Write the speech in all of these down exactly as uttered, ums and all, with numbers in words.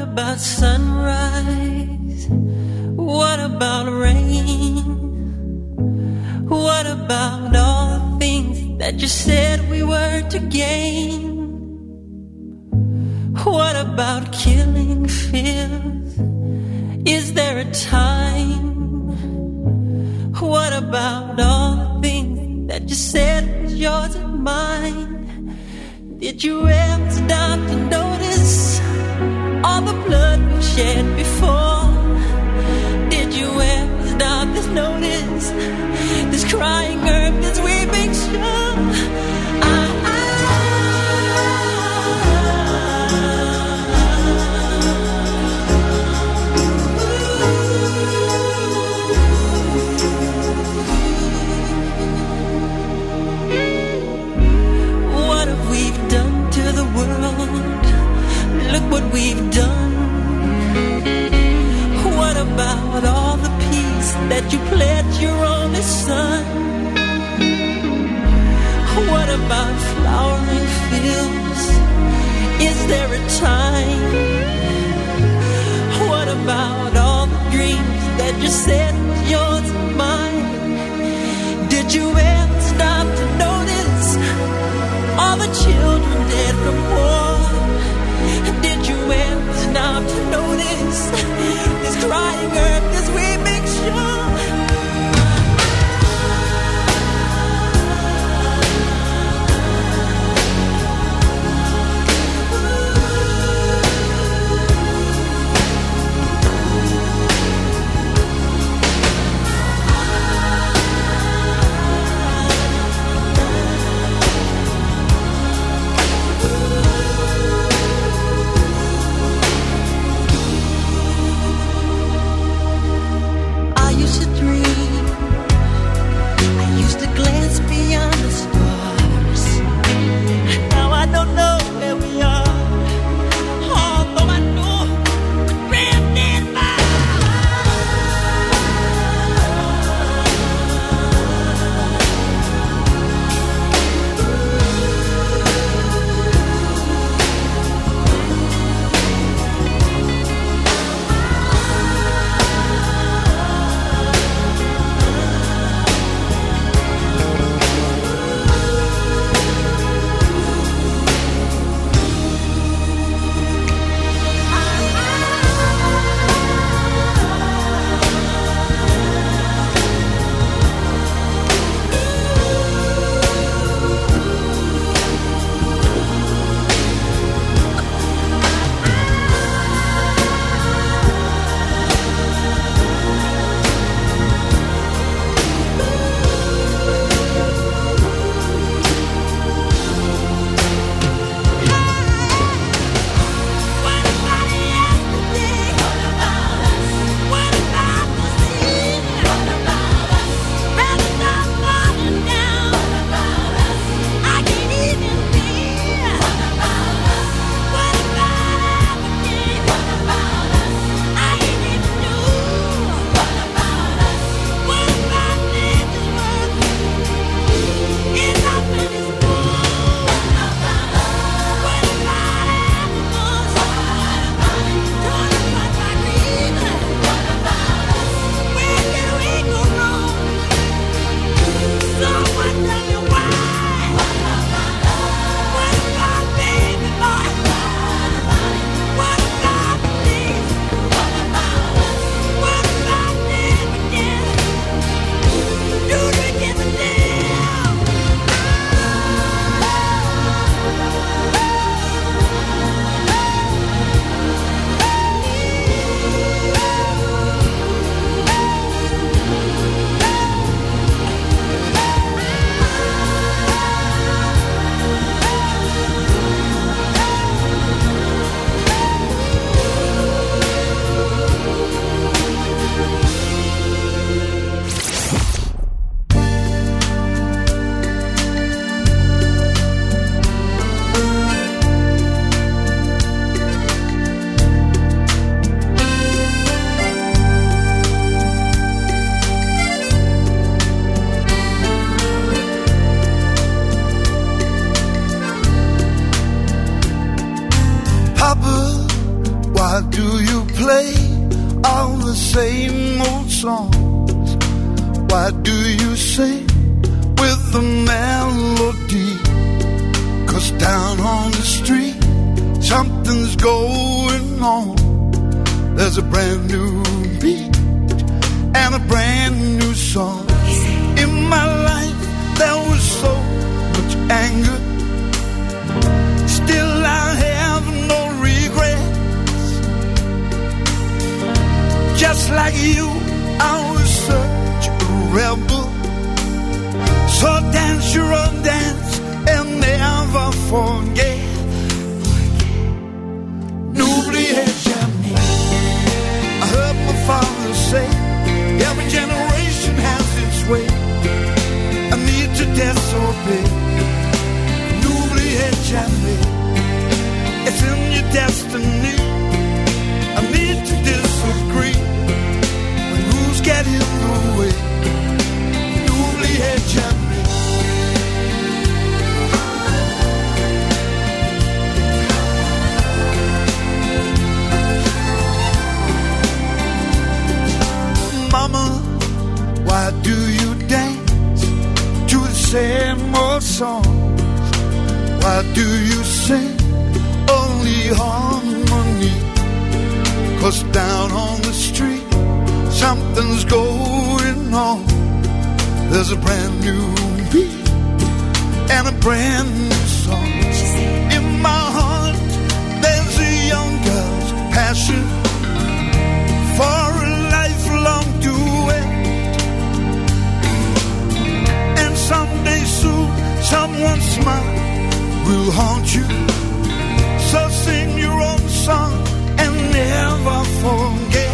about sunrise? What about rain? What about all the things that you said we were to gain? What about killing fears? Is there a time? What about all the things that you said was yours and mine? Did you ever stop to notice all the blood we shed before? Did you ever stop to notice this crying earth, this weeping shore? Look what we've done. What about all the peace that you pledged your only son? What about flowering fields? Is there a time? What about all the dreams that you said was yours and mine? Did you ever stop to notice all the children dead from war? Did you ever stop to notice this crying earth, this weeping shore? Why do you play all the same old songs? Why do you sing with the melody? 'Cause down on the street something's going on. There's a brand new beat and a brand new song. In my life there was so much anger, still I have no regrets. Just like you, I was such a rebel. So dance your own dance and never forget. N'oubliez jamais. I heard my father say, every generation has its way. I need to disobey. N'oubliez jamais. It's in your destiny. I need to disagree when rules get in the way. N'oubliez jamais. Mama, why do you dance to the same old songs? Why do you sing only harmony? 'Cause down on the street something's going on. There's a brand new beat and a brand new song. In my heart there's a young girl's passion for a lifelong duet. And someday soon someone's smile will haunt you. So sing your own song and never forget.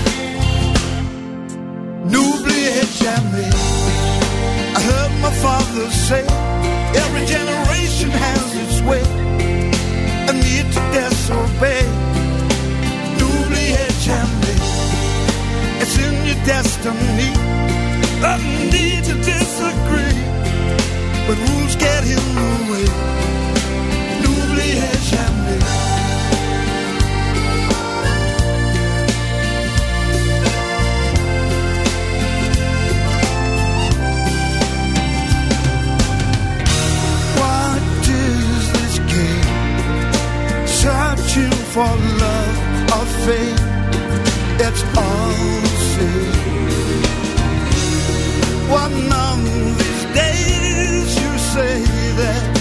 N'oubliez jamais. I heard my father say, every generation has its way. I need to disobey. N'oubliez jamais. It's in your destiny. I need to disagree when rules get in the way. N'oubliez jamais. What is this game? Searching for love or fame? It's all the same. One of these days you say that